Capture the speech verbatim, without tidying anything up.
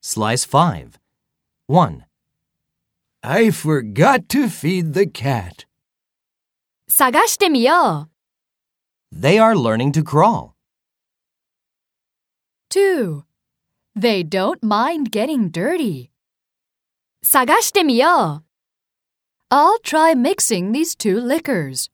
Slice five. one. I forgot to feed the cat. 探してみよう。 They are learning to crawl. two. They don't mind getting dirty. 探してみよう。I'll try mixing these two liquors.